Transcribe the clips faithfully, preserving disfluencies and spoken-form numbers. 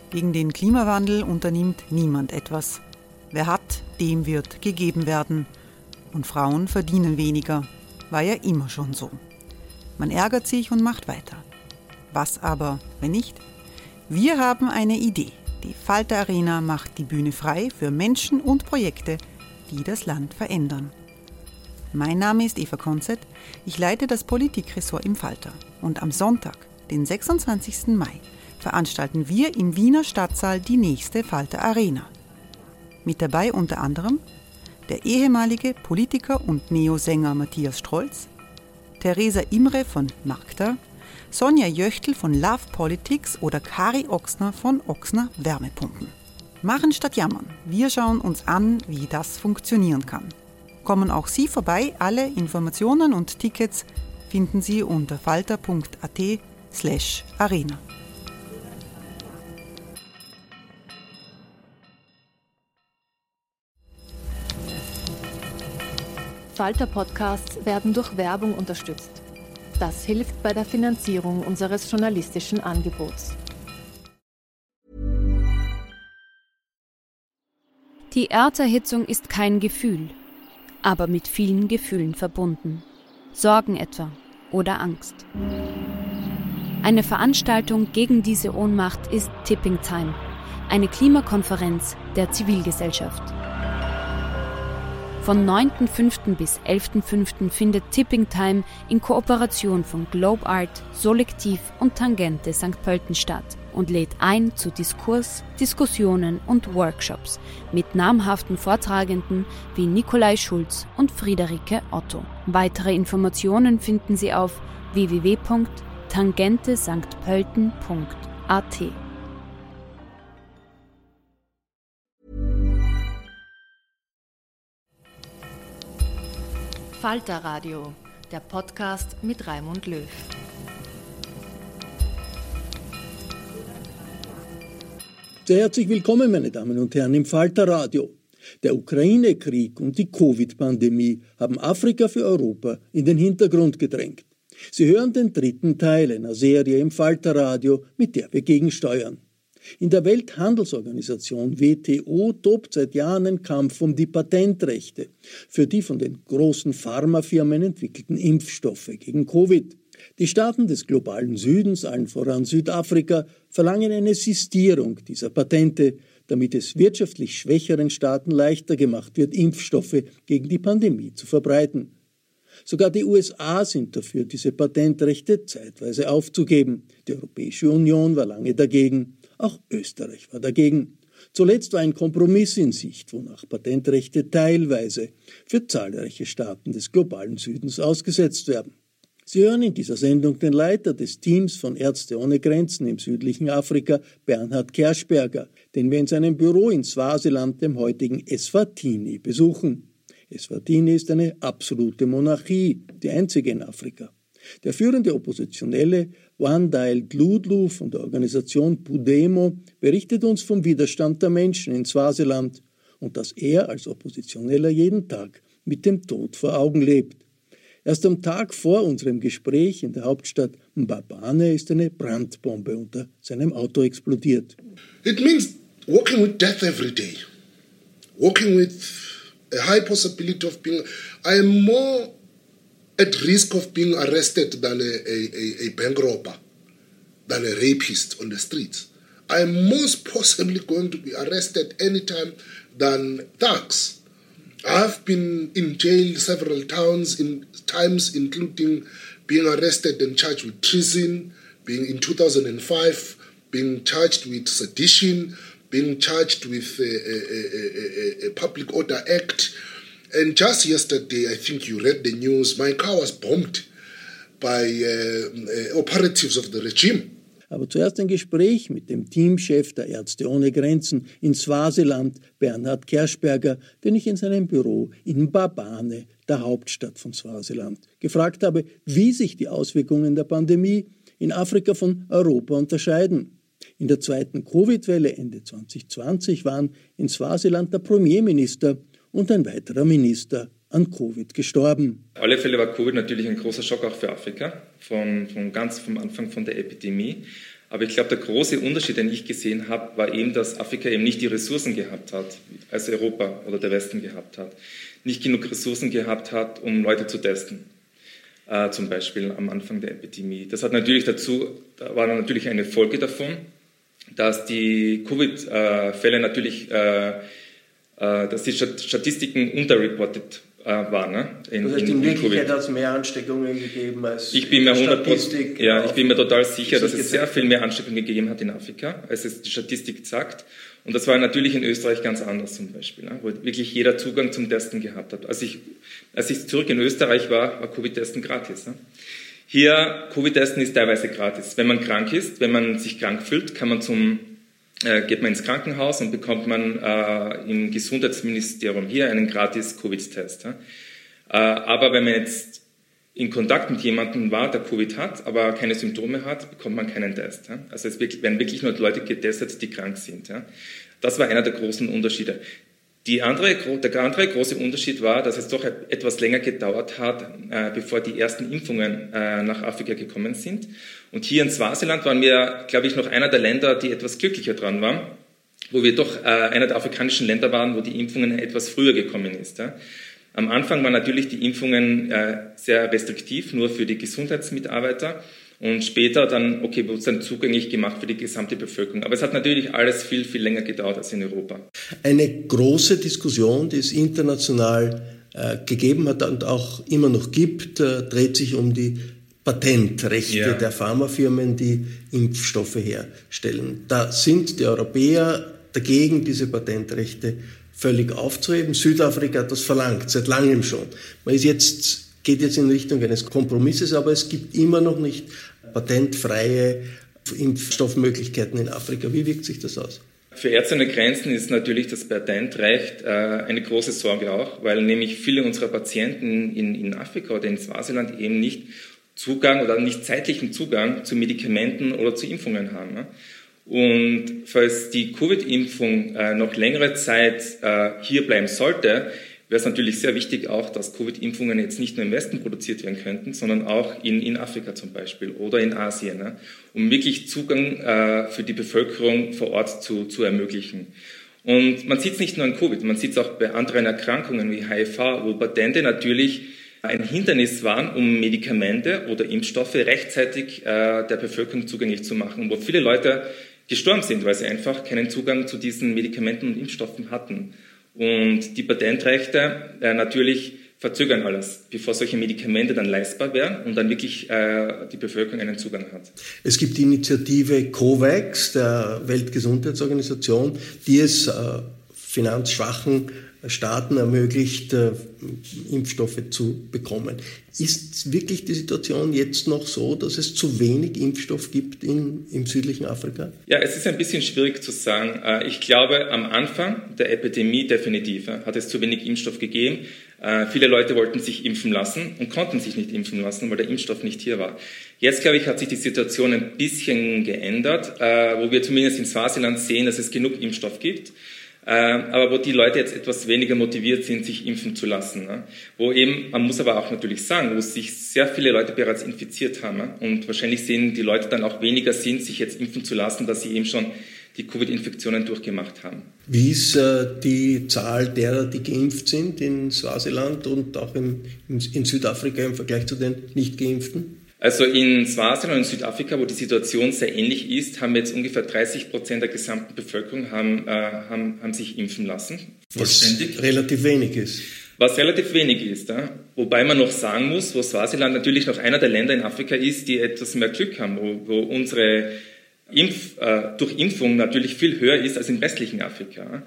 Gegen den Klimawandel unternimmt niemand etwas. Wer hat, dem wird gegeben werden. Und Frauen verdienen weniger. War ja immer schon so. Man ärgert sich und macht weiter. Was aber, wenn nicht? Wir haben eine Idee. Die Falter Arena macht die Bühne frei für Menschen und Projekte, die das Land verändern. Mein Name ist Eva Konzett, ich leite das Politikressort im Falter. Und am Sonntag, den sechsundzwanzigsten Mai, veranstalten wir im Wiener Stadtsaal die nächste Falter Arena. Mit dabei unter anderem der ehemalige Politiker und Neosänger Matthias Strolz, Theresa Imre von Magda, Sonja Jöchtl von Love Politics oder Kari Ochsner von Ochsner Wärmepumpen. Machen statt jammern. Wir schauen uns an, wie das funktionieren kann. Kommen auch Sie vorbei. Alle Informationen und Tickets finden Sie unter falter punkt at slash arena. Falter-Podcasts werden durch Werbung unterstützt. Das hilft bei der Finanzierung unseres journalistischen Angebots. Die Erderhitzung ist kein Gefühl, aber mit vielen Gefühlen verbunden. Sorgen etwa oder Angst. Eine Veranstaltung gegen diese Ohnmacht ist Tipping Time, eine Klimakonferenz der Zivilgesellschaft. Von neunten fünften bis elften fünften findet Tipping Time in Kooperation von Globe Art, Solektiv und Tangente Sankt Pölten statt und lädt ein zu Diskurs, Diskussionen und Workshops mit namhaften Vortragenden wie Nikolai Schulz und Friederike Otto. Weitere Informationen finden Sie auf w w w punkt tangente sankt pölten punkt a t. Falter Radio, der Podcast mit Raimund Löw. Sehr herzlich willkommen, meine Damen und Herren, im Falter Radio. Der Ukraine-Krieg und die Covid-Pandemie haben Afrika für Europa in den Hintergrund gedrängt. Sie hören den dritten Teil einer Serie im Falter Radio, mit der wir gegensteuern. In der Welthandelsorganisation W T O tobt seit Jahren ein Kampf um die Patentrechte für die von den großen Pharmafirmen entwickelten Impfstoffe gegen Covid. Die Staaten des globalen Südens, allen voran Südafrika, verlangen eine Sistierung dieser Patente, damit es wirtschaftlich schwächeren Staaten leichter gemacht wird, Impfstoffe gegen die Pandemie zu verbreiten. Sogar die U S A sind dafür, diese Patentrechte zeitweise aufzugeben. Die Europäische Union war lange dagegen. Auch Österreich war dagegen. Zuletzt war ein Kompromiss in Sicht, wonach Patentrechte teilweise für zahlreiche Staaten des globalen Südens ausgesetzt werden. Sie hören in dieser Sendung den Leiter des Teams von Ärzte ohne Grenzen im südlichen Afrika, Bernhard Kerschberger, den wir in seinem Büro in Swasiland, dem heutigen Eswatini, besuchen. Eswatini ist eine absolute Monarchie, die einzige in Afrika. Der führende Oppositionelle Wandile Dludlu von der Organisation Pudemo berichtet uns vom Widerstand der Menschen in Swasiland und dass er als Oppositioneller jeden Tag mit dem Tod vor Augen lebt. Erst am Tag vor unserem Gespräch in der Hauptstadt Mbabane ist eine Brandbombe unter seinem Auto explodiert. It means walking with death every day. Walking with a high possibility of being... I am more at risk of being arrested than a, a, a bank robber, than a rapist on the streets. I am most possibly going to be arrested anytime than thugs. I've been in jail several times, in times including being arrested and charged with treason, being in two thousand five, being charged with sedition, being charged with a, a, a, a Public Order Act. And just yesterday, I think you read the news, my car was bombed by uh, uh, operatives of the regime. Aber zuerst ein Gespräch mit dem Teamchef der Ärzte ohne Grenzen in Swasiland, Bernhard Kerschberger, den ich in seinem Büro in Mbabane, der Hauptstadt von Swasiland, gefragt habe, wie sich die Auswirkungen der Pandemie in Afrika von Europa unterscheiden. In der zweiten Covid-Welle Ende zwanzig zwanzig waren in Swasiland der Premierminister und ein weiterer Minister an Covid gestorben. Auf alle Fälle war Covid natürlich ein großer Schock auch für Afrika, von, von ganz vom Anfang von der Epidemie. Aber ich glaube, der große Unterschied, den ich gesehen habe, war eben, dass Afrika eben nicht die Ressourcen gehabt hat, als Europa oder der Westen gehabt hat. Nicht genug Ressourcen gehabt hat, um Leute zu testen. Äh, zum Beispiel am Anfang der Epidemie. Das hat natürlich dazu, da war natürlich eine Folge davon, dass die Covid-Fälle natürlich, äh, äh, dass die Statistiken unterreportet war, ne? In, das heißt, in, in in Wirklichkeit hat es mehr Ansteckungen gegeben als ich bin mir Statistik. Ja, ich bin mir total sicher, dass es sehr viel mehr Ansteckungen gegeben hat in Afrika, als es die Statistik sagt. Und das war natürlich in Österreich ganz anders zum Beispiel, ne? Wo wirklich jeder Zugang zum Testen gehabt hat. Als ich, als ich zurück in Österreich war, war Covid-Testen gratis. Ne? Hier, Covid-Testen ist teilweise gratis. Wenn man krank ist, wenn man sich krank fühlt, kann man zum Äh, geht man ins Krankenhaus und bekommt man äh, im Gesundheitsministerium hier einen gratis Covid-Test. Ja? Äh, aber wenn man jetzt in Kontakt mit jemandem war, der Covid hat, aber keine Symptome hat, bekommt man keinen Test. Ja? Also es werden wirklich nur Leute getestet, die krank sind. Ja? Das war einer der großen Unterschiede. Die andere, der andere große Unterschied war, dass es doch etwas länger gedauert hat, äh, bevor die ersten Impfungen äh, nach Afrika gekommen sind. Und hier in Swasiland waren wir, glaube ich, noch einer der Länder, die etwas glücklicher dran waren, wo wir doch äh, einer der afrikanischen Länder waren, wo die Impfungen etwas früher gekommen ist. Ja. Am Anfang waren natürlich die Impfungen äh, sehr restriktiv, nur für die Gesundheitsmitarbeiter. Und später dann, okay, wurde es dann zugänglich gemacht für die gesamte Bevölkerung. Aber es hat natürlich alles viel, viel länger gedauert als in Europa. Eine große Diskussion, die es international äh, gegeben hat und auch immer noch gibt, äh, dreht sich um die Patentrechte ja. der Pharmafirmen, die Impfstoffe herstellen. Da sind die Europäer dagegen, diese Patentrechte völlig aufzuheben. Südafrika hat das verlangt, seit langem schon. Man ist jetzt geht jetzt in Richtung eines Kompromisses, aber es gibt immer noch nicht patentfreie Impfstoffmöglichkeiten in Afrika. Wie wirkt sich das aus? Für Ärzte ohne Grenzen ist natürlich das Patentrecht äh, eine große Sorge auch, weil nämlich viele unserer Patienten in, in Afrika oder in Swasiland eben nicht Zugang oder nicht zeitlichen Zugang zu Medikamenten oder zu Impfungen haben. Ne? Und falls die Covid-Impfung äh, noch längere Zeit äh, hier bleiben sollte, wäre es natürlich sehr wichtig auch, dass Covid-Impfungen jetzt nicht nur im Westen produziert werden könnten, sondern auch in, in Afrika zum Beispiel oder in Asien, ne? Um wirklich Zugang äh, für die Bevölkerung vor Ort zu, zu ermöglichen. Und man sieht es nicht nur an Covid, man sieht es auch bei anderen Erkrankungen wie H I V, wo Patente natürlich ein Hindernis waren, um Medikamente oder Impfstoffe rechtzeitig äh, der Bevölkerung zugänglich zu machen, wo viele Leute gestorben sind, weil sie einfach keinen Zugang zu diesen Medikamenten und Impfstoffen hatten. Und die Patentrechte äh, natürlich verzögern alles, bevor solche Medikamente dann leistbar werden und dann wirklich äh, die Bevölkerung einen Zugang hat. Es gibt die Initiative COVAX der Weltgesundheitsorganisation, die es äh, finanzschwachen Staaten ermöglicht, äh, Impfstoffe zu bekommen. Ist wirklich die Situation jetzt noch so, dass es zu wenig Impfstoff gibt in, im südlichen Afrika? Ja, es ist ein bisschen schwierig zu sagen. Ich glaube, am Anfang der Epidemie definitiv hat es zu wenig Impfstoff gegeben. Viele Leute wollten sich impfen lassen und konnten sich nicht impfen lassen, weil der Impfstoff nicht hier war. Jetzt, glaube ich, hat sich die Situation ein bisschen geändert, wo wir zumindest in Swasiland sehen, dass es genug Impfstoff gibt. Aber wo die Leute jetzt etwas weniger motiviert sind, sich impfen zu lassen. Ne? Wo eben, man muss aber auch natürlich sagen, wo sich sehr viele Leute bereits infiziert haben. Ne? Und wahrscheinlich sehen die Leute dann auch weniger Sinn, sich jetzt impfen zu lassen, dass sie eben schon die Covid-Infektionen durchgemacht haben. Wie ist äh, die Zahl derer, die geimpft sind in Swasiland und auch im, in, in Südafrika im Vergleich zu den Nicht-Geimpften? Also in Swasiland und in Südafrika, wo die Situation sehr ähnlich ist, haben jetzt ungefähr dreißig Prozent der gesamten Bevölkerung haben, äh, haben, haben sich impfen lassen. Was relativ wenig ist. Was relativ wenig ist. Ja? Wobei man noch sagen muss, wo Swasiland natürlich noch einer der Länder in Afrika ist, die etwas mehr Glück haben, wo, wo unsere Impf, äh, Durchimpfung natürlich viel höher ist als im restlichen Afrika.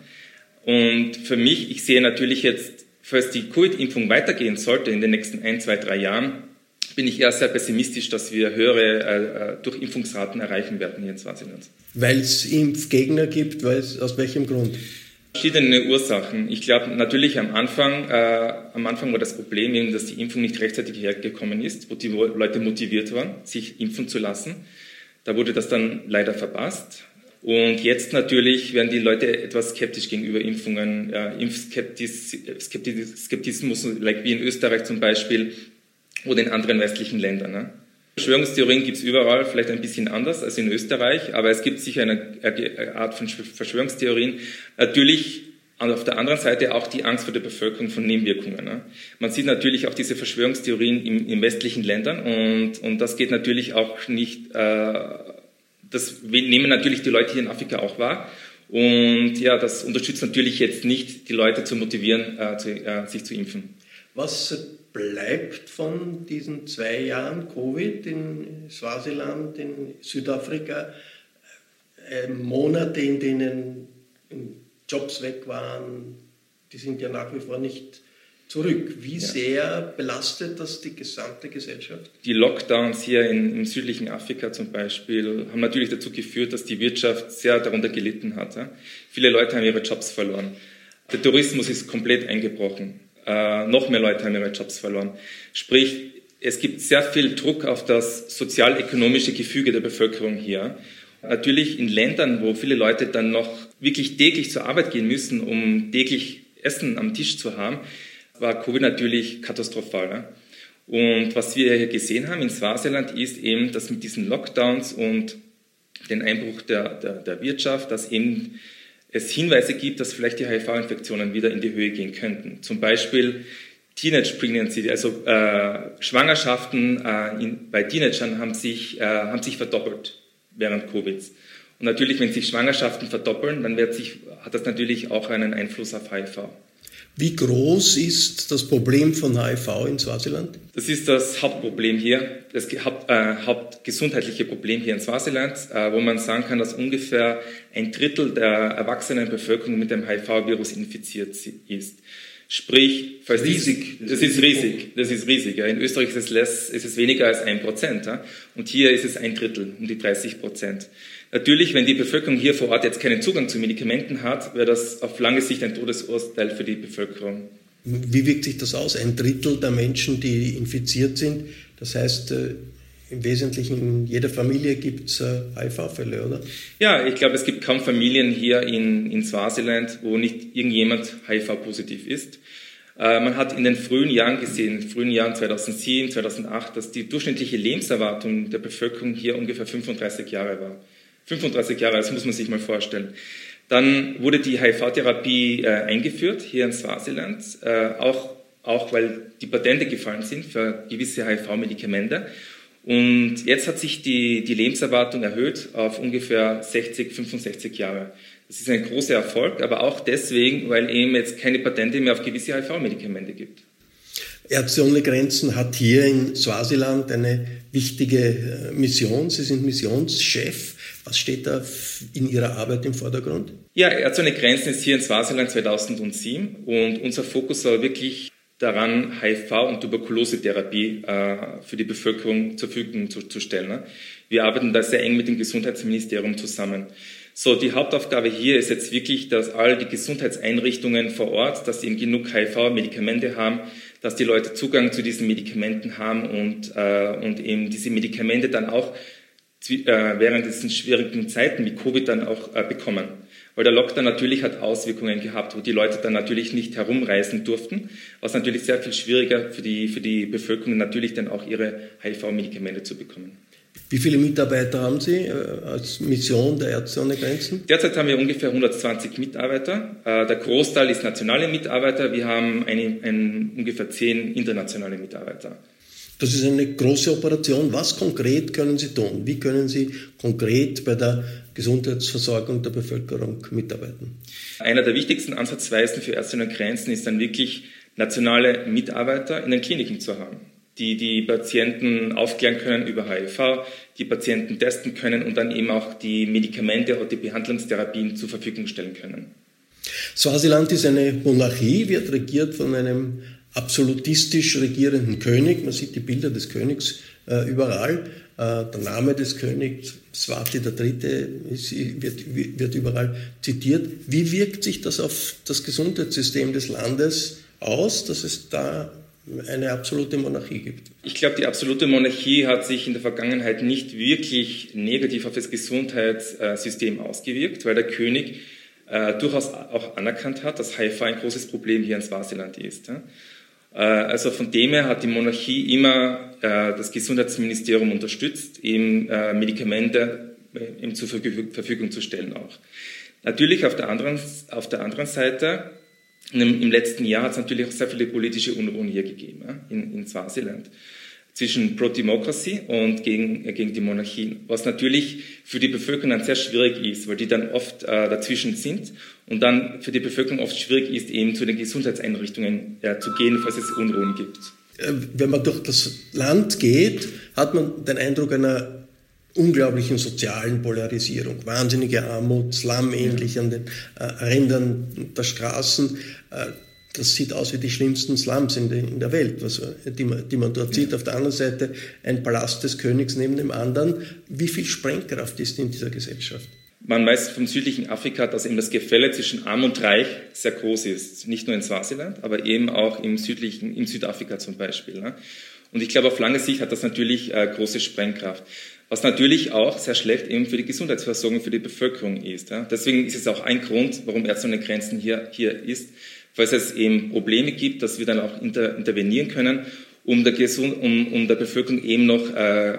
Und für mich, ich sehe natürlich jetzt, falls die Covid-Impfung weitergehen sollte in den nächsten ein, zwei, drei Jahren, bin ich eher sehr pessimistisch, dass wir höhere äh, Durchimpfungsraten erreichen werden hier in Swasiland. Weil es Impfgegner gibt, weil's, aus welchem Grund? Verschiedene Ursachen. Ich glaube natürlich am Anfang, äh, am Anfang war das Problem eben, dass die Impfung nicht rechtzeitig hergekommen ist, wo die Leute motiviert waren, sich impfen zu lassen. Da wurde das dann leider verpasst. Und jetzt natürlich werden die Leute etwas skeptisch gegenüber Impfungen, äh, Impfskeptis, Skeptis, Skeptismus, like wie in Österreich zum Beispiel, oder in anderen westlichen Ländern. Ne? Verschwörungstheorien gibt es überall, vielleicht ein bisschen anders als in Österreich, aber es gibt sicher eine, eine Art von Verschwörungstheorien. Natürlich auf der anderen Seite auch die Angst vor der Bevölkerung von Nebenwirkungen. Ne? Man sieht natürlich auch diese Verschwörungstheorien in, in westlichen Ländern und, und das geht natürlich auch nicht, äh, das nehmen natürlich die Leute hier in Afrika auch wahr. Und ja, das unterstützt natürlich jetzt nicht, die Leute zu motivieren, äh, zu, äh, sich zu impfen. Was bleibt von diesen zwei Jahren Covid in Swasiland, in Südafrika, äh, Monate, in denen Jobs weg waren, die sind ja nach wie vor nicht zurück. Wie ja. sehr belastet das die gesamte Gesellschaft? Die Lockdowns hier in, im südlichen Afrika zum Beispiel haben natürlich dazu geführt, dass die Wirtschaft sehr darunter gelitten hat. Ja? Viele Leute haben ihre Jobs verloren. Der Tourismus ist komplett eingebrochen. Äh, noch mehr Leute haben ihre Jobs verloren. Sprich, es gibt sehr viel Druck auf das sozial-ökonomische Gefüge der Bevölkerung hier. Natürlich in Ländern, wo viele Leute dann noch wirklich täglich zur Arbeit gehen müssen, um täglich Essen am Tisch zu haben, war Covid natürlich katastrophal. Ne? Und was wir hier gesehen haben in Swasiland ist eben, dass mit diesen Lockdowns und den Einbruch der, der, der Wirtschaft, dass eben es Hinweise gibt, dass vielleicht die H I V-Infektionen wieder in die Höhe gehen könnten. Zum Beispiel Teenage Pregnancy, also äh, Schwangerschaften äh, in, bei Teenagern haben sich, äh, haben sich verdoppelt während Covid. Und natürlich, wenn sich Schwangerschaften verdoppeln, dann wird sich, hat das natürlich auch einen Einfluss auf H I V. Wie groß ist das Problem von H I V in Swasiland? Das ist das Hauptproblem hier, das Haupt, äh, hauptgesundheitliche Problem hier in Swasiland, äh, wo man sagen kann, dass ungefähr ein Drittel der erwachsenen Bevölkerung mit dem H I V-Virus infiziert ist. Sprich, falls riesig. Das, das ist riesig. Das ist riesig. Ja. In Österreich ist es, less, ist es weniger als ein Prozent. Ja. Und hier ist es ein Drittel, um die dreißig Prozent. Natürlich, wenn die Bevölkerung hier vor Ort jetzt keinen Zugang zu Medikamenten hat, wäre das auf lange Sicht ein Todesurteil für die Bevölkerung. Wie wirkt sich das aus? Ein Drittel der Menschen, die infiziert sind. Das heißt, im Wesentlichen in jeder Familie gibt es H I V-Fälle, oder? Ja, ich glaube, es gibt kaum Familien hier in, in Swasiland, wo nicht irgendjemand H I V-positiv ist. Äh, man hat in den frühen Jahren gesehen, in den frühen Jahren zweitausendsieben, zweitausendacht, dass die durchschnittliche Lebenserwartung der Bevölkerung hier ungefähr fünfunddreißig Jahre war. fünfunddreißig Jahre, das muss man sich mal vorstellen. Dann wurde die H I V-Therapie äh, eingeführt hier in Swasiland, äh, auch, auch weil die Patente gefallen sind für gewisse H I V-Medikamente. Und jetzt hat sich die, die Lebenserwartung erhöht auf ungefähr sechzig, fünfundsechzig Jahre. Das ist ein großer Erfolg, aber auch deswegen, weil eben jetzt keine Patente mehr auf gewisse H I V-Medikamente gibt. Ärzte ohne Grenzen hat hier in Swasiland eine wichtige Mission. Sie sind Missionschef. Was steht da in Ihrer Arbeit im Vordergrund? Ja, Ärzte ohne Grenzen ist hier in Swasiland zweitausendsieben und unser Fokus war wirklich daran, H I V- und Tuberkulosetherapie äh, für die Bevölkerung zur Verfügung zu, zu stellen. Ne? Wir arbeiten da sehr eng mit dem Gesundheitsministerium zusammen. So, die Hauptaufgabe hier ist jetzt wirklich, dass all die Gesundheitseinrichtungen vor Ort, dass sie eben genug H I V-Medikamente haben, dass die Leute Zugang zu diesen Medikamenten haben und, äh, und eben diese Medikamente dann auch äh, während diesen schwierigen Zeiten wie Covid dann auch äh, bekommen. Weil der Lockdown natürlich hat Auswirkungen gehabt, wo die Leute dann natürlich nicht herumreisen durften, was natürlich sehr viel schwieriger für die, für die Bevölkerung natürlich dann auch ihre H I V-Medikamente zu bekommen. Wie viele Mitarbeiter haben Sie äh, als Mission der Ärzte ohne Grenzen? Derzeit haben wir ungefähr hundertzwanzig Mitarbeiter. Äh, der Großteil ist nationale Mitarbeiter. Wir haben eine, ein, ungefähr zehn internationale Mitarbeiter. Das ist eine große Operation. Was konkret können Sie tun? Wie können Sie konkret bei der Gesundheitsversorgung der Bevölkerung mitarbeiten? Einer der wichtigsten Ansatzweisen für Ärzte ohne Grenzen ist dann wirklich, nationale Mitarbeiter in den Kliniken zu haben, die die Patienten aufklären können über H I V, die Patienten testen können und dann eben auch die Medikamente oder die Behandlungstherapien zur Verfügung stellen können. Swasiland ist eine Monarchie, wird regiert von einem absolutistisch regierenden König. Man sieht die Bilder des Königs äh, überall. Äh, der Name des Königs, Swati der Dritte, ist, wird, wird überall zitiert. Wie wirkt sich das auf das Gesundheitssystem des Landes aus, dass es da eine absolute Monarchie gibt? Ich glaube, die absolute Monarchie hat sich in der Vergangenheit nicht wirklich negativ auf das Gesundheitssystem ausgewirkt, weil der König äh, durchaus auch anerkannt hat, dass H I V ein großes Problem hier in Swasiland ist. Ja? Also von dem her hat die Monarchie immer das Gesundheitsministerium unterstützt, eben Medikamente ihm zur Verfügung zu stellen auch. Natürlich auf der anderen, auf der anderen Seite, im letzten Jahr hat es natürlich auch sehr viele politische Unruhen hier gegeben, in, in Swasiland, zwischen Pro-Democracy und gegen, gegen die Monarchie, was natürlich für die Bevölkerung dann sehr schwierig ist, weil die dann oft äh, dazwischen sind und dann für die Bevölkerung oft schwierig ist, eben zu den Gesundheitseinrichtungen äh, zu gehen, falls es Unruhen gibt. Wenn man durch das Land geht, hat man den Eindruck einer unglaublichen sozialen Polarisierung, wahnsinnige Armut, Slum-ähnlich an den äh, Rändern der Straßen. Äh, Das sieht aus wie die schlimmsten Slums in, de, in der Welt, was, die, man, die man dort sieht. Auf der anderen Seite ein Palast des Königs neben dem anderen. Wie viel Sprengkraft ist in dieser Gesellschaft? Man weiß vom südlichen Afrika, dass eben das Gefälle zwischen Arm und Reich sehr groß ist. Nicht nur in Swasiland, aber eben auch im südlichen, in Südafrika zum Beispiel. Ne? Und ich glaube, auf lange Sicht hat das natürlich äh, große Sprengkraft. Was natürlich auch sehr schlecht eben für die Gesundheitsversorgung für die Bevölkerung ist. Ja? Deswegen ist es auch ein Grund, warum Ärzte ohne Grenzen hier, hier ist, falls es eben Probleme gibt, dass wir dann auch inter, intervenieren können, um der, Gesund, um, um der Bevölkerung eben noch äh,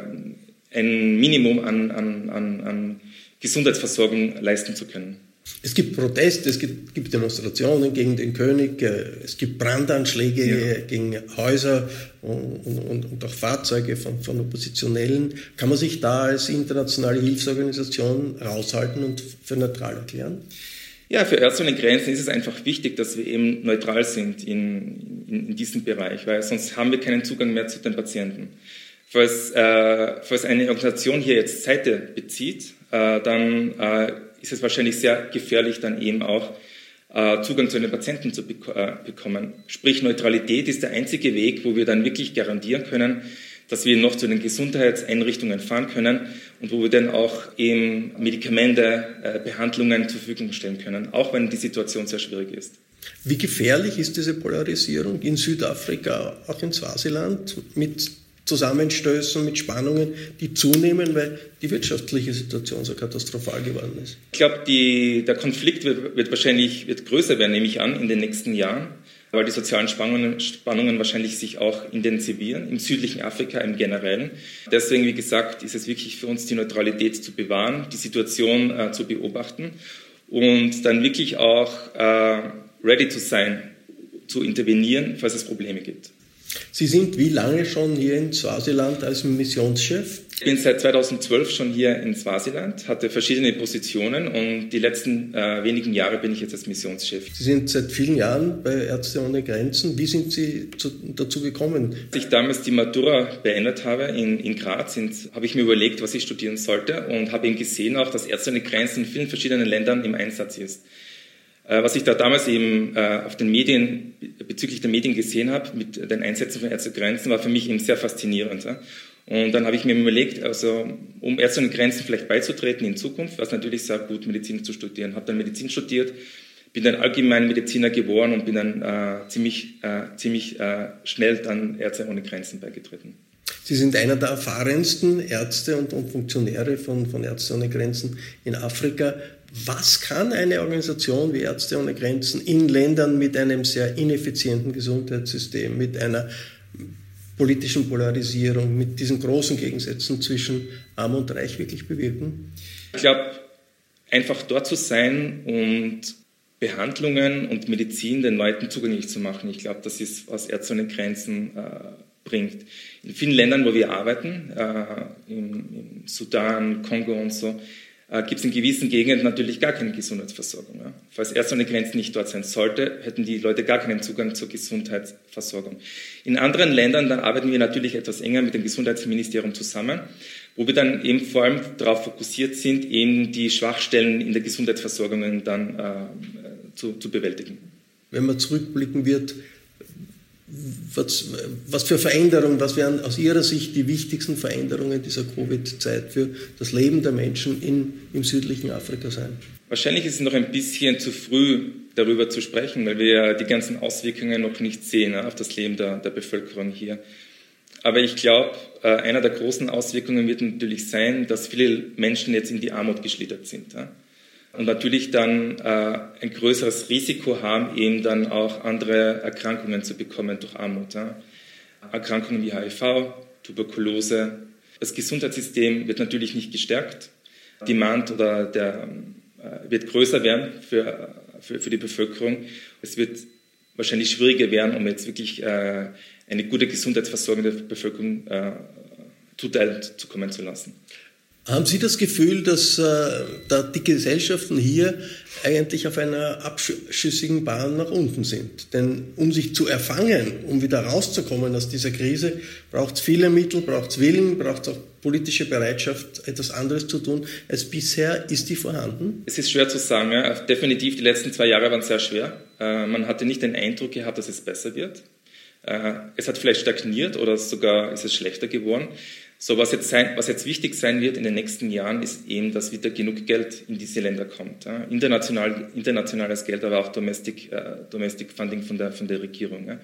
ein Minimum an, an, an, an Gesundheitsversorgung leisten zu können. Es gibt Proteste, es gibt, gibt Demonstrationen gegen den König, es gibt Brandanschläge ja. gegen Häuser und, und, und auch Fahrzeuge von, von Oppositionellen. Kann man sich da als internationale Hilfsorganisation raushalten und für neutral erklären? Ja, für Ärzte ohne Grenzen ist es einfach wichtig, dass wir eben neutral sind in, in, in diesem Bereich, weil sonst haben wir keinen Zugang mehr zu den Patienten. Falls, äh, falls eine Organisation hier jetzt Seite bezieht, äh, dann äh, ist es wahrscheinlich sehr gefährlich, dann eben auch äh, Zugang zu den Patienten zu bek- äh, bekommen. Sprich, Neutralität ist der einzige Weg, wo wir dann wirklich garantieren können, dass wir noch zu den Gesundheitseinrichtungen fahren können und wo wir dann auch eben Medikamente, äh, Behandlungen zur Verfügung stellen können, auch wenn die Situation sehr schwierig ist. Wie gefährlich ist diese Polarisierung in Südafrika, auch in Swasiland, mit Zusammenstößen, mit Spannungen, die zunehmen, weil die wirtschaftliche Situation so katastrophal geworden ist? Ich glaube, der Konflikt wird, wird wahrscheinlich wird größer werden, nehme ich an, in den nächsten Jahren, weil die sozialen Spannungen, Spannungen wahrscheinlich sich auch intensivieren, im südlichen Afrika im Generellen. Deswegen, wie gesagt, ist es wirklich für uns, die Neutralität zu bewahren, die Situation äh, zu beobachten und dann wirklich auch äh, ready zu sein, zu intervenieren, falls es Probleme gibt. Sie sind wie lange schon hier in Swasiland als Missionschef? Ich bin seit zweitausendzwölf schon hier in Swasiland, hatte verschiedene Positionen und die letzten äh, wenigen Jahre bin ich jetzt als Missionschef. Sie sind seit vielen Jahren bei Ärzte ohne Grenzen. Wie sind Sie zu, dazu gekommen? Als ich damals die Matura beendet habe in, in Graz, habe ich mir überlegt, was ich studieren sollte und habe eben gesehen auch, dass Ärzte ohne Grenzen in vielen verschiedenen Ländern im Einsatz ist. Was ich da damals eben äh, auf den Medien, bezüglich der Medien gesehen habe, mit den Einsätzen von Ärzte ohne Grenzen, war für mich eben sehr faszinierend. Ja? Und dann habe ich mir überlegt, also um Ärzte ohne Grenzen vielleicht beizutreten in Zukunft, war es natürlich sehr gut, Medizin zu studieren. Habe dann Medizin studiert, bin dann Allgemeinmediziner geworden und bin dann äh, ziemlich, äh, ziemlich äh, schnell dann Ärzte ohne Grenzen beigetreten. Sie sind einer der erfahrensten Ärzte und, und Funktionäre von, von Ärzte ohne Grenzen in Afrika. Was kann eine Organisation wie Ärzte ohne Grenzen in Ländern mit einem sehr ineffizienten Gesundheitssystem, mit einer politischen Polarisierung, mit diesen großen Gegensätzen zwischen Arm und Reich wirklich bewirken? Ich glaube, einfach dort zu sein und Behandlungen und Medizin den Leuten zugänglich zu machen. Ich glaube, das ist, was Ärzte ohne Grenzen äh, bringt. In vielen Ländern, wo wir arbeiten, äh, im, im Sudan, Kongo und so, äh, gibt es in gewissen Gegenden natürlich gar keine Gesundheitsversorgung. Ja. Falls Ärzte ohne Grenzen nicht dort sein sollte, hätten die Leute gar keinen Zugang zur Gesundheitsversorgung. In anderen Ländern, da arbeiten wir natürlich etwas enger mit dem Gesundheitsministerium zusammen, wo wir dann eben vor allem darauf fokussiert sind, eben die Schwachstellen in der Gesundheitsversorgung dann äh, zu, zu bewältigen. Wenn man zurückblicken wird, was, was für Veränderungen, was wären aus Ihrer Sicht die wichtigsten Veränderungen dieser Covid-Zeit für das Leben der Menschen in, im südlichen Afrika sein? Wahrscheinlich ist es noch ein bisschen zu früh, darüber zu sprechen, weil wir die ganzen Auswirkungen noch nicht sehen auf das Leben der, der Bevölkerung hier. Aber ich glaube, einer der großen Auswirkungen wird natürlich sein, dass viele Menschen jetzt in die Armut geschlittert sind. und natürlich dann äh, ein größeres Risiko haben, eben dann auch andere Erkrankungen zu bekommen durch Armut. Ja. Erkrankungen wie H I V, Tuberkulose. Das Gesundheitssystem wird natürlich nicht gestärkt. Demand oder der äh, wird größer werden für, für, für die Bevölkerung. Es wird wahrscheinlich schwieriger werden, um jetzt wirklich äh, eine gute Gesundheitsversorgung der Bevölkerung äh, zuteilt zu kommen zu lassen. Haben Sie das Gefühl, dass äh, da die Gesellschaften hier eigentlich auf einer abschüssigen Bahn nach unten sind? Denn um sich zu erfangen, um wieder rauszukommen aus dieser Krise, braucht es viele Mittel, braucht es Willen, braucht es auch politische Bereitschaft, etwas anderes zu tun als bisher. Ist die vorhanden? Es ist schwer zu sagen. Ja. Definitiv, die letzten zwei Jahre waren sehr schwer. Äh, man hatte nicht den Eindruck gehabt, dass es besser wird. Äh, es hat vielleicht stagniert oder sogar ist es schlechter geworden. So, was jetzt, sein, was jetzt wichtig sein wird in den nächsten Jahren, ist eben, dass wieder genug Geld in diese Länder kommt. Ja. International, internationales Geld, aber auch Domestic, äh, Domestic Funding von der, von der Regierung. Ja.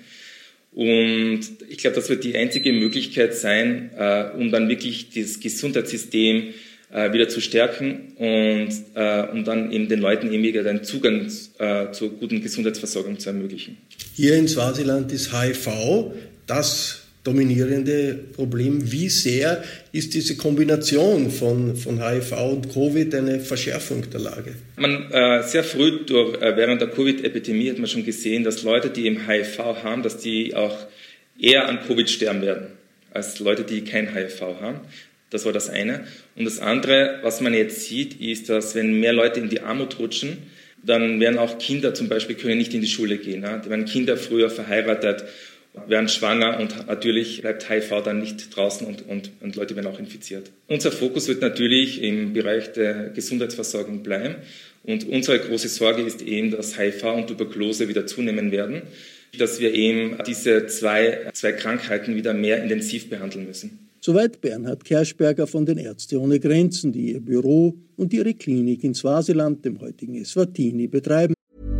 Und ich glaube, das wird die einzige Möglichkeit sein, äh, um dann wirklich das Gesundheitssystem äh, wieder zu stärken und äh, um dann eben den Leuten eben wieder den Zugang äh, zur guten Gesundheitsversorgung zu ermöglichen. Hier in Swasiland ist H I V das dominierende Problem. Wie sehr ist diese Kombination von, von H I V und Covid eine Verschärfung der Lage? Man, äh, sehr früh durch, äh, während der Covid-Epidemie hat man schon gesehen, dass Leute, die eben H I V haben, dass die auch eher an Covid sterben werden, als Leute, die kein H I V haben. Das war das eine. Und das andere, was man jetzt sieht, ist, dass wenn mehr Leute in die Armut rutschen, dann werden auch Kinder zum Beispiel können nicht in die Schule gehen. Ja? Da werden Kinder früher verheiratet, werden schwanger und natürlich bleibt H I V dann nicht draußen und, und, und Leute werden auch infiziert. Unser Fokus wird natürlich im Bereich der Gesundheitsversorgung bleiben und unsere große Sorge ist eben, dass H I V und Tuberkulose wieder zunehmen werden, dass wir eben diese zwei, zwei Krankheiten wieder mehr intensiv behandeln müssen. Soweit Bernhard Kerschberger von den Ärzte ohne Grenzen, die ihr Büro und ihre Klinik in Swasiland, dem heutigen Eswatini, betreiben.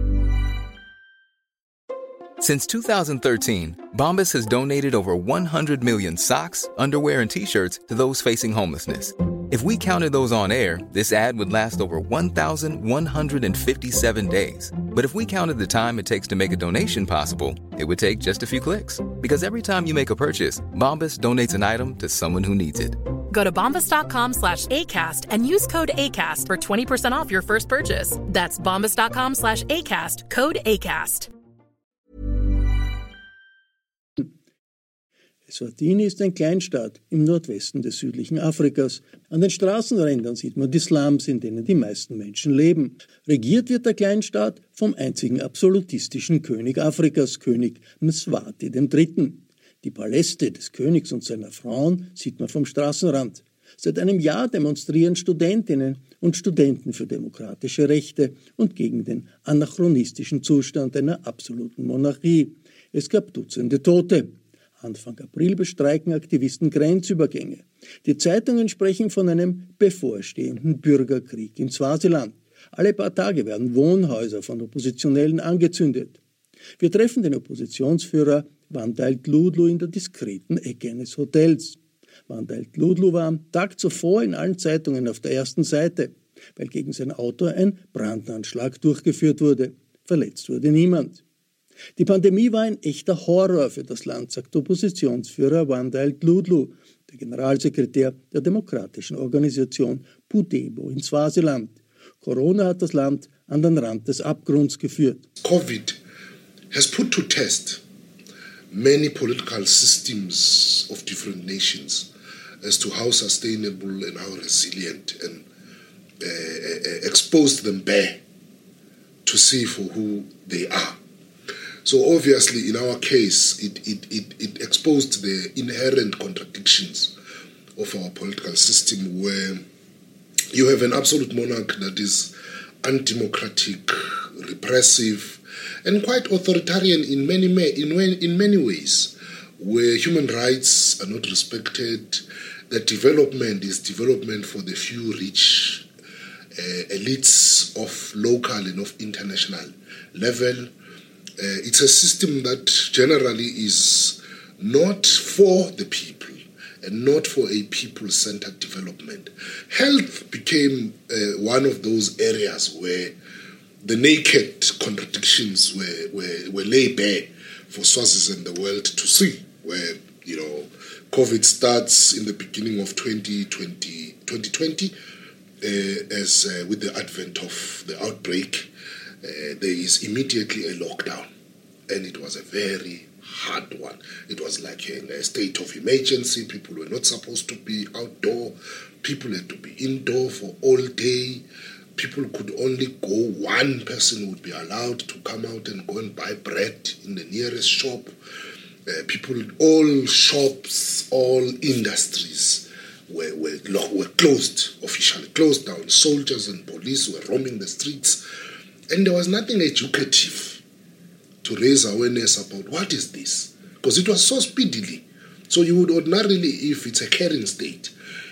Since two thousand thirteen, Bombas has donated over one hundred million socks, underwear, and T-shirts to those facing homelessness. If we counted those on air, this ad would last over one thousand one hundred fifty-seven days. But if we counted the time it takes to make a donation possible, it would take just a few clicks. Because every time you make a purchase, Bombas donates an item to someone who needs it. Go to bombas.com slash ACAST and use code ACAST for twenty percent off your first purchase. That's bombas.com slash ACAST, code ACAST. Eswatini ist ein Kleinstaat im Nordwesten des südlichen Afrikas. An den Straßenrändern sieht man die Slums, in denen die meisten Menschen leben. Regiert wird der Kleinstaat vom einzigen absolutistischen König Afrikas, König Mswati der Dritte. Die Paläste des Königs und seiner Frauen sieht man vom Straßenrand. Seit einem Jahr demonstrieren Studentinnen und Studenten für demokratische Rechte und gegen den anachronistischen Zustand einer absoluten Monarchie. Es gab Dutzende Tote. Anfang April bestreiken Aktivisten Grenzübergänge. Die Zeitungen sprechen von einem bevorstehenden Bürgerkrieg in Swasiland. Alle paar Tage werden Wohnhäuser von Oppositionellen angezündet. Wir treffen den Oppositionsführer Wandile Dludlu in der diskreten Ecke eines Hotels. Wandile Dludlu war am Tag zuvor in allen Zeitungen auf der ersten Seite, weil gegen sein Auto ein Brandanschlag durchgeführt wurde. Verletzt wurde niemand. Die Pandemie war ein echter Horror für das Land, sagt Oppositionsführer Wandile Dludlu, der Generalsekretär der demokratischen Organisation Pudebo in Swasiland. Corona hat das Land an den Rand des Abgrunds geführt. COVID has put to test many political systems of different nations as to how sustainable and how resilient, and uh, uh, exposed them bare to see for who they are. So obviously, in our case, it, it, it, it exposed the inherent contradictions of our political system, where you have an absolute monarch that is undemocratic, repressive, and quite authoritarian in many in, in many ways, where human rights are not respected, that development is development for the few rich uh, elites of local and of international level. Uh, it's a system that generally is not for the people. and not for a people-centered development. Health became uh, one of those areas where the naked contradictions were, were, were laid bare for Swazis and the world to see, where, you know, COVID starts in the beginning of twenty twenty, twenty twenty uh, as uh, with the advent of the outbreak, uh, there is immediately a lockdown, and it was a very hard one. It was like in a state of emergency. People were not supposed to be outdoor. People had to be indoor for all day. People could only go, one person would be allowed to come out and go and buy bread in the nearest shop. Uh, people, all shops, all industries were, were, were closed, officially closed down. Soldiers and police were roaming the streets. And there was nothing educative to raise awareness about what is this. Because it was so speedily. So you would ordinarily, if it's a caring state,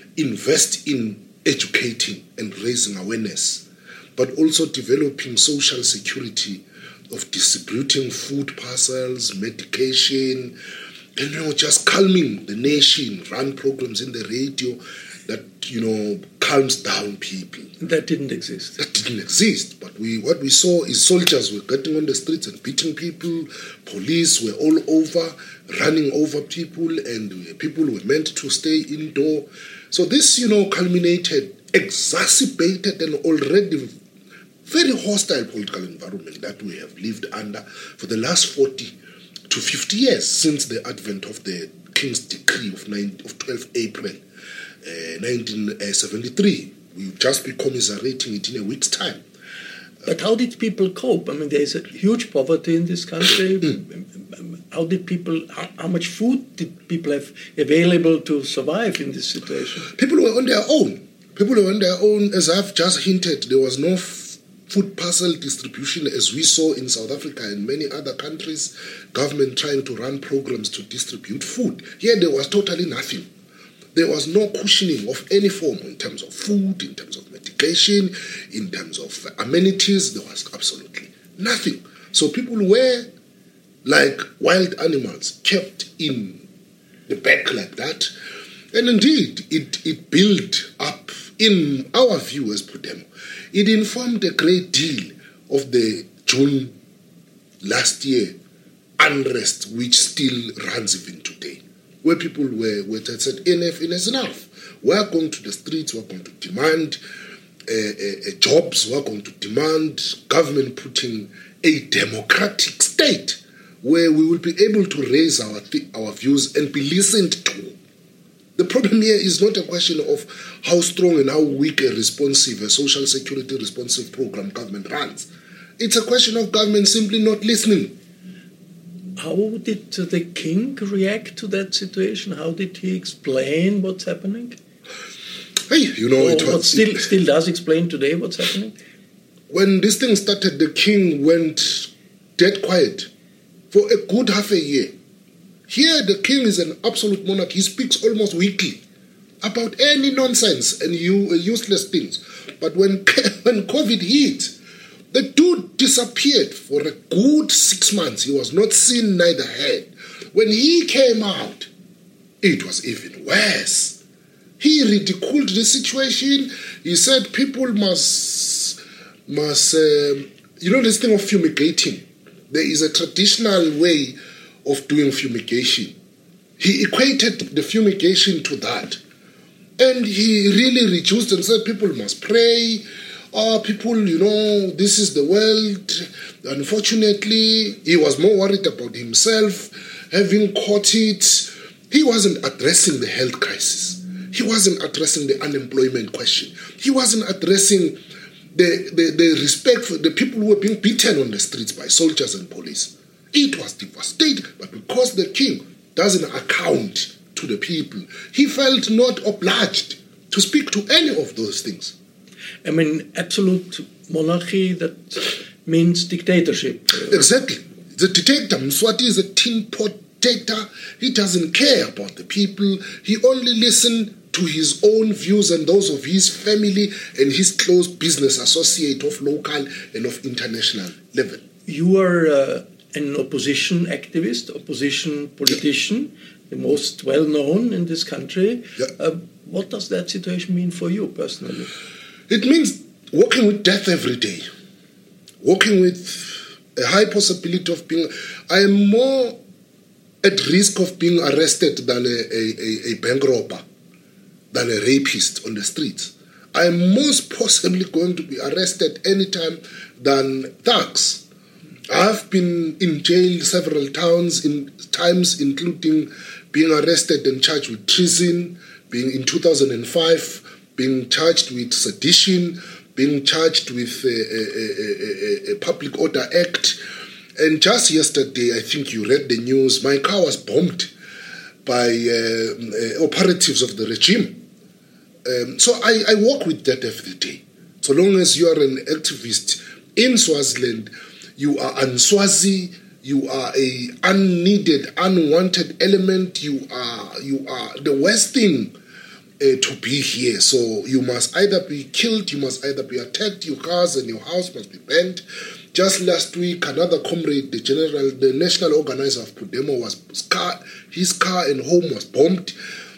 invest in educating and raising awareness, but also developing social security of distributing food parcels, medication, and, you know, just calming the nation, run programs in the radio that, you know, calms down people. That didn't exist. That didn't exist. But we, what we saw is soldiers were getting on the streets and beating people. Police were all over, running over people, and people were meant to stay indoor. So this, you know, culminated, exacerbated an already very hostile political environment that we have lived under for the last forty to fifty years since the advent of the King's Decree of, of twelfth April uh, nineteen seventy-three. We've just been commiserating it in a week's time. But how did people cope? I mean, there is a huge poverty in this country. Mm. How did people, how, how much food did people have available to survive in this situation? People were on their own. People were on their own. As I've just hinted, there was no f- food parcel distribution as we saw in South Africa and many other countries, government trying to run programs to distribute food. Here there was totally nothing. There was no cushioning of any form in terms of food, in terms of medication, in terms of amenities. There was absolutely nothing. So people were like wild animals, kept in the back like that. And indeed, it, it built up, in our view as Podemo, it informed a great deal of the June last year unrest, which still runs even today, where people were, were said, enough, enough is enough. We're going to the streets, we're going to demand uh, uh, jobs, we're going to demand government putting a democratic state where we will be able to raise our, th- our views and be listened to. The problem here is not a question of how strong and how weak a responsive, a social security responsive program government runs. It's a question of government simply not listening. How did the king react to that situation? How did he explain what's happening? Hey, you know, or it was... What still, still does explain today what's happening? When this thing started, the king went dead quiet for a good half a year. Here, the king is an absolute monarch. He speaks almost weekly about any nonsense and useless things. But when, when COVID hit, the dude disappeared for a good six months. He was not seen, neither heard. When he came out, it was even worse. He ridiculed the situation. He said people must, must uh, you know, this thing of fumigating. There is a traditional way of doing fumigation. He equated the fumigation to that. And he really reduced and said people must pray. Oh, people, you know, this is the world. Unfortunately, he was more worried about himself, having caught it. He wasn't addressing the health crisis. He wasn't addressing the unemployment question. He wasn't addressing the, the, the respect for the people who were being beaten on the streets by soldiers and police. It was devastating, but because the king doesn't account to the people, he felt not obliged to speak to any of those things. I mean, absolute monarchy, that means dictatorship. Exactly. The dictator, Mswati, is a tin pot dictator. He doesn't care about the people. He only listens to his own views and those of his family and his close business associate of local and of international level. You are uh, an opposition activist, opposition politician. the most well-known in this country. Yeah. Uh, what does that situation mean for you personally? It means walking with death every day, walking with a high possibility of being... I am more at risk of being arrested than a, a, a bank robber, than a rapist on the streets. I am most possibly going to be arrested anytime than thugs. I've been in jail several times, in times including being arrested and charged with treason, being in two thousand five, being charged with sedition, being charged with a, a, a, a Public Order Act. And just yesterday, I think you read the news, my car was bombed by uh, uh, operatives of the regime. Um, so I, I walk with that every day. So long as you are an activist in Swaziland, you are unswazi, you are a unneeded, unwanted element, you are you are the worst thing uh, to be here. So you must either be killed, you must either be attacked, your cars and your house must be burnt. Just last week, another comrade, the general, the national organizer of Podemo, was car, his car and home was bombed.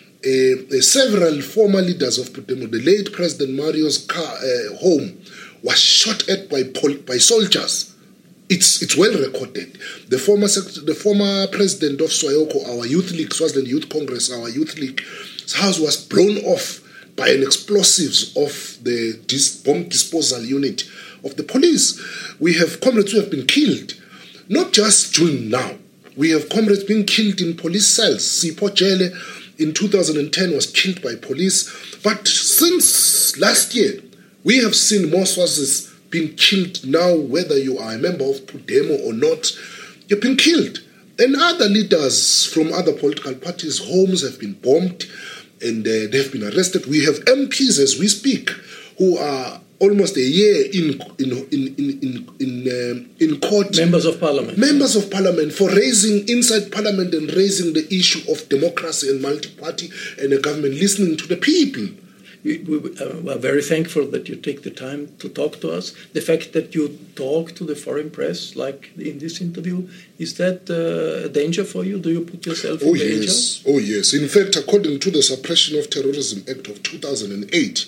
Uh, uh, several former leaders of Podemo, the late President Mario's car, uh, home was shot at by pol- by soldiers. It's it's well recorded. The former sec- the former president of Swayoko, our youth league, Swaziland Youth Congress, our youth league, his house was blown off by an explosives of the dis- bomb disposal unit of the police. We have comrades who have been killed, not just June now. We have comrades being killed in police cells. Sipho Jele in two thousand ten was killed by police. But since last year, we have seen more Swazis being killed now, whether you are a member of Podemo or not, you've been killed. And other leaders from other political parties' homes have been bombed and uh, they've been arrested. We have M Ps as we speak who are almost a year in in in in in in, um, in court. Members of parliament. Members of parliament for raising inside parliament and raising the issue of democracy and multi-party and a government listening to the people. We, we uh, are very thankful that you take the time to talk to us. The fact that you talk to the foreign press, like in this interview, is that uh, a danger for you? Do you put yourself in oh, danger? Yes. Oh, yes. In fact, according to the Suppression of Terrorism Act of two thousand eight,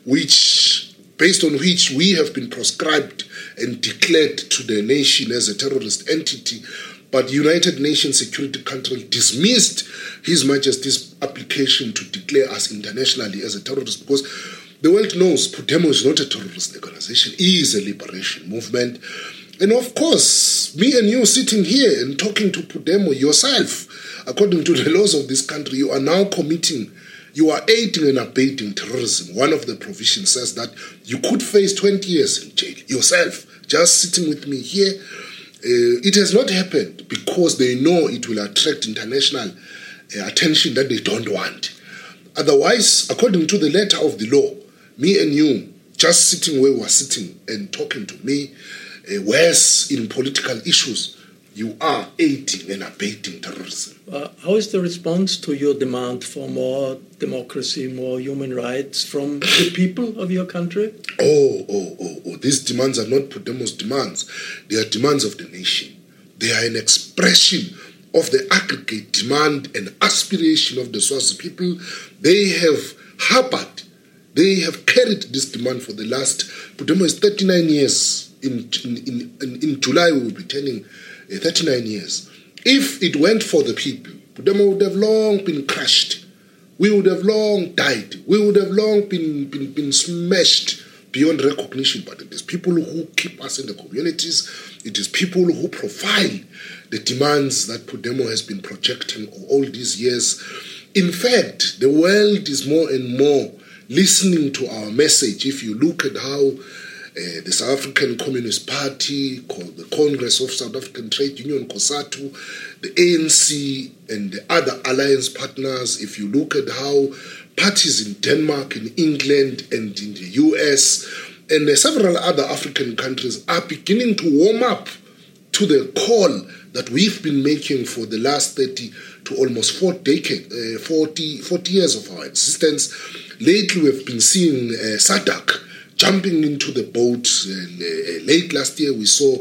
which, based on which we have been proscribed and declared to the nation as a terrorist entity, but United Nations Security Council dismissed His Majesty's application to declare us internationally as a terrorist because the world knows Podemo is not a terrorist organization, it is a liberation movement. And of course, me and you sitting here and talking to Podemo yourself, according to the laws of this country, you are now committing, you are aiding and abating terrorism. One of the provisions says that you could face twenty years in jail yourself, just sitting with me here. Uh, it has not happened because they know it will attract international uh, attention that they don't want. Otherwise, according to the letter of the law, me and you, just sitting where we are sitting and talking to me, uh, whereas in political issues, you are aiding and abating terrorism. Uh, how is the response to your demand for more democracy, more human rights from the people of your country? Oh, oh, oh, oh. These demands are not Podemo's demands. They are demands of the nation. They are an expression of the aggregate demand and aspiration of the Swazi people. They have harbored, they have carried this demand for the last, Podemo is thirty-nine years. In, in, in, in July, we will be turning uh, thirty-nine years. If it went for the people, Podemo would have long been crushed. We would have long died. We would have long been, been, been smashed beyond recognition. But it is people who keep us in the communities. It is people who profile the demands that Podemo has been projecting all these years. In fact, the world is more and more listening to our message. If you look at how uh, the South African Communist Party, called the Congress of South African Trade Union, COSATU, the A N C and the other alliance partners, if you look at how parties in Denmark, in England and in the U S and uh, several other African countries are beginning to warm up to the call that we've been making for the last thirty to almost four decades, uh, forty, forty years of our existence. Lately, we've been seeing uh, SADC jumping into the boat. Uh, late last year, we saw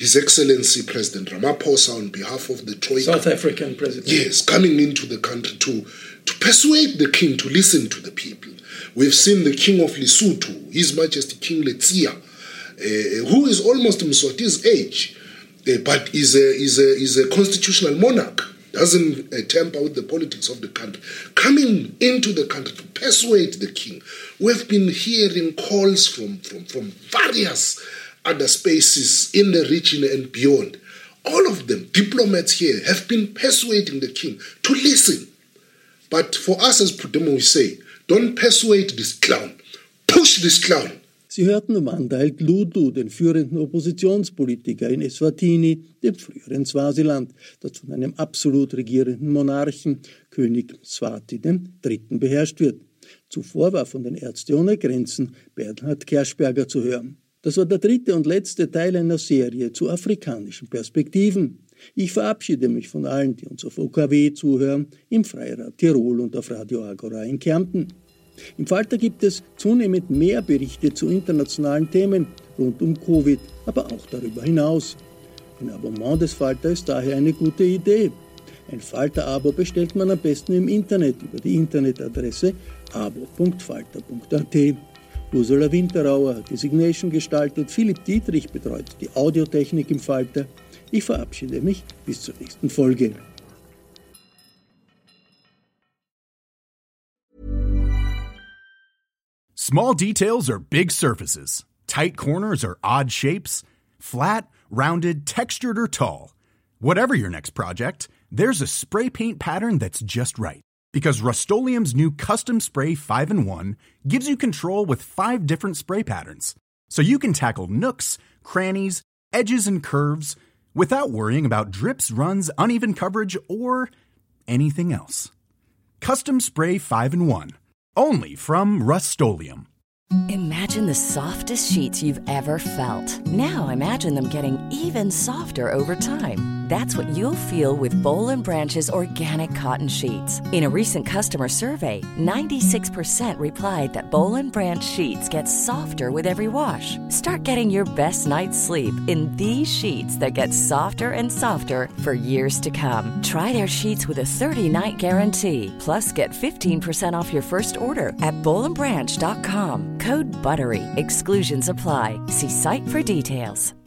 His Excellency President Ramaphosa on behalf of the Troika. South African president. Yes, coming into the country to, to persuade the king to listen to the people. We've seen the King of Lesotho, His Majesty King Letsia, uh, who is almost Mswati's age, uh, but is a, is, a, is a constitutional monarch, doesn't uh, tamper with the politics of the country, coming into the country to persuade the king. We've been hearing calls from, from, from various other spaces in the region and beyond. All of them, diplomats here, have been persuading the king to listen. But for us as Pudemo, we say, don't persuade this clown. Push this clown. Sie hörten Wanda Ludu, den führenden Oppositionspolitiker in Eswatini, dem früheren Swasiland, das von einem absolut regierenden Monarchen, König Mswati der Dritte, beherrscht wird. Zuvor war von den Ärzte ohne Grenzen Bernhard Kerschberger zu hören. Das war der dritte und letzte Teil einer Serie zu afrikanischen Perspektiven. Ich verabschiede mich von allen, die uns auf O K W zuhören, im Freirad Tirol und auf Radio Agora in Kärnten. Im Falter gibt es zunehmend mehr Berichte zu internationalen Themen rund um Covid, aber auch darüber hinaus. Ein Abonnement des Falter ist daher eine gute Idee. Ein Falter-Abo bestellt man am besten im Internet über die Internetadresse abo punkt falter punkt a t. Ursula Winterauer hat die Signation gestaltet, Philipp Dietrich betreut die Audiotechnik im Falter. Ich verabschiede mich bis zur nächsten Folge. Small details are big surfaces. Tight corners are odd shapes. Flat, rounded, textured, or tall. Whatever your next project, there's a spray paint pattern that's just right. Because Rust-Oleum's new Custom Spray five in one gives you control with five different spray patterns. So you can tackle nooks, crannies, edges, and curves without worrying about drips, runs, uneven coverage, or anything else. Custom Spray five in one. Only from Rust-Oleum. Imagine the softest sheets you've ever felt. Now imagine them getting even softer over time. That's what you'll feel with Boll and Branch's organic cotton sheets. In a recent customer survey, ninety-six percent replied that Boll and Branch sheets get softer with every wash. Start getting your best night's sleep in these sheets that get softer and softer for years to come. Try their sheets with a thirty-night guarantee. Plus, get fifteen percent off your first order at boll and branch dot com. Code BUTTERY. Exclusions apply. See site for details.